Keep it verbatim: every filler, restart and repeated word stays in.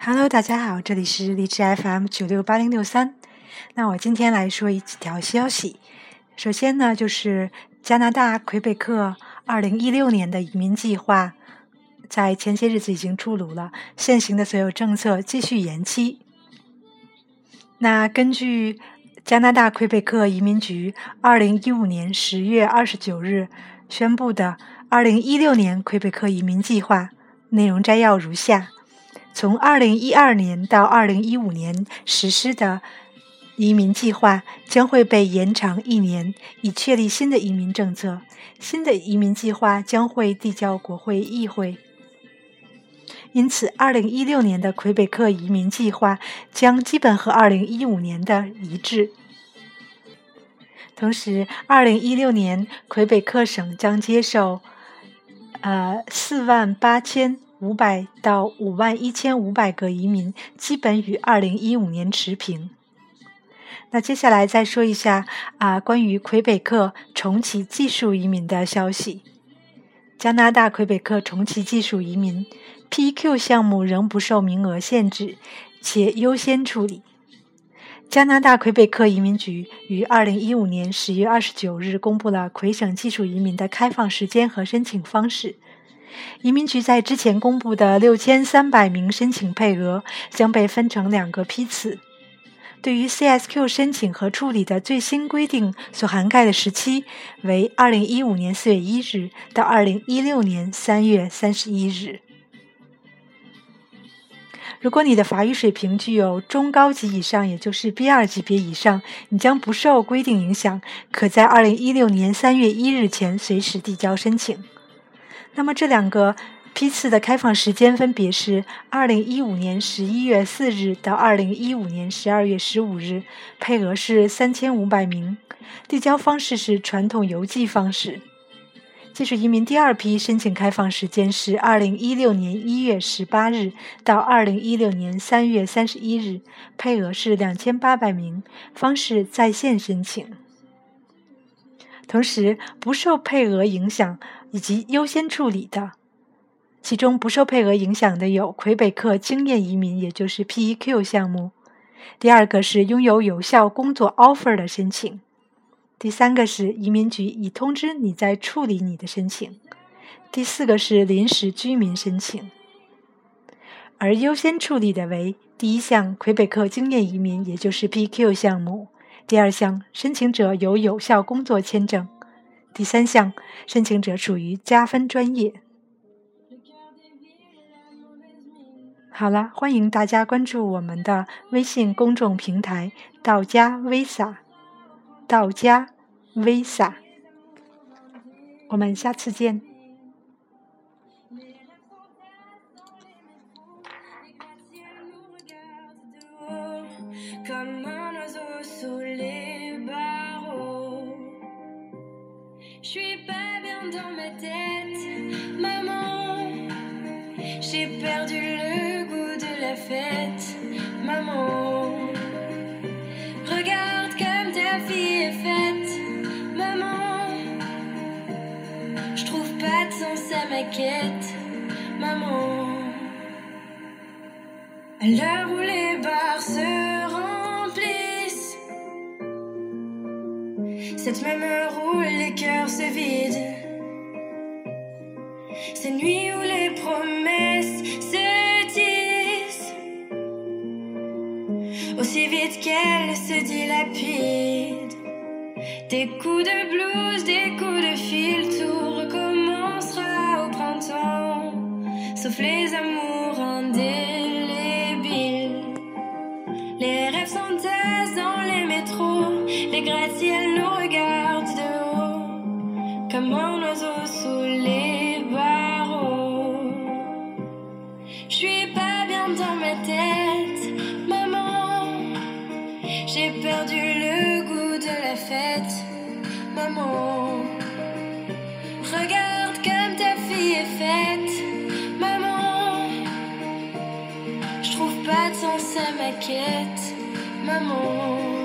Hello， 大家好，这里是荔枝 F M 九六八零六三。那我今天来说一几条消息。首先呢，就是加拿大魁北克二零一六年的移民计划，在前些日子已经出炉了，现行的所有政策继续延期。那根据加拿大魁北克移民局二零一五年十月二十九日宣布的二零一六年魁北克移民计划，内容摘要如下：从二零一二年到二零一五年实施的移民计划将会被延长一年，以确立新的移民政策。新的移民计划将会递交国会议会。因此二零一六年的魁北克移民计划将基本和二零一五年的一致。同时二零一六年魁北克省将接受呃四万八千五百到五万一千五百个移民，基本与二零一五年持平。那接下来再说一下啊，关于魁北克重启技术移民的消息。加拿大魁北克重启技术移民 P E Q 项目仍不受名额限制，且优先处理。加拿大魁北克移民局于二零一五年十月二十九日公布了魁省技术移民的开放时间和申请方式。移民局在之前公布的六千三百名申请配额将被分成两个批次。对于 C S Q 申请和处理的最新规定所涵盖的时期为二零一五年四月一日到二零一六年三月三十一日。如果你的法语水平具有中高级以上，也就是 B 二 级别以上，你将不受规定影响，可在二零一六年三月一日前随时递交申请。那么这两个批次的开放时间分别是二零一五年十一月四日到二零一五年十二月十五日，配额是三千五百名，递交方式是传统邮寄方式。技术移民第二批申请开放时间是二零一六年一月十八日到二零一六年三月三十一日，配额是两千八百名，方式在线申请。同时不受配额影响以及优先处理的，其中不受配额影响的有魁北克经验移民，也就是 P E Q 项目。第二个是拥有有效工作 offer 的申请。第三个是移民局已通知你在处理你的申请。第四个是临时居民申请。而优先处理的为第一项魁北克经验移民，也就是 P E Q 项目。第二项申请者有有效工作签证。第三项申请者属于加分专业。好了，欢迎大家关注我们的微信公众平台道家 Visa， 道家 Visa， 我们下次见。 J'ai perdu le goût de la fête, maman. Regarde comme ta fille est faite, maman. Je trouve pas de sens à ma quête, maman. À l'heure où les bars se remplissent, cette même heure où les cœurs se vident, ces nuits où les promesses se disent aussi vite qu'elles se dilapident. Des coups de blues, des coups de fil, tout recommencera au printemps, sauf les amours indélébiles. Les rêves s'entassent dans les métros, les gratte-ciels nous regardent de haut, comme un oiseau sous les barreaux. Je suis pas bien dans ma tête, maman. J'ai perdu le goût de la fête, maman. Regarde comme ta fille est faite, maman. Je trouve pas de sens à ma quête, maman.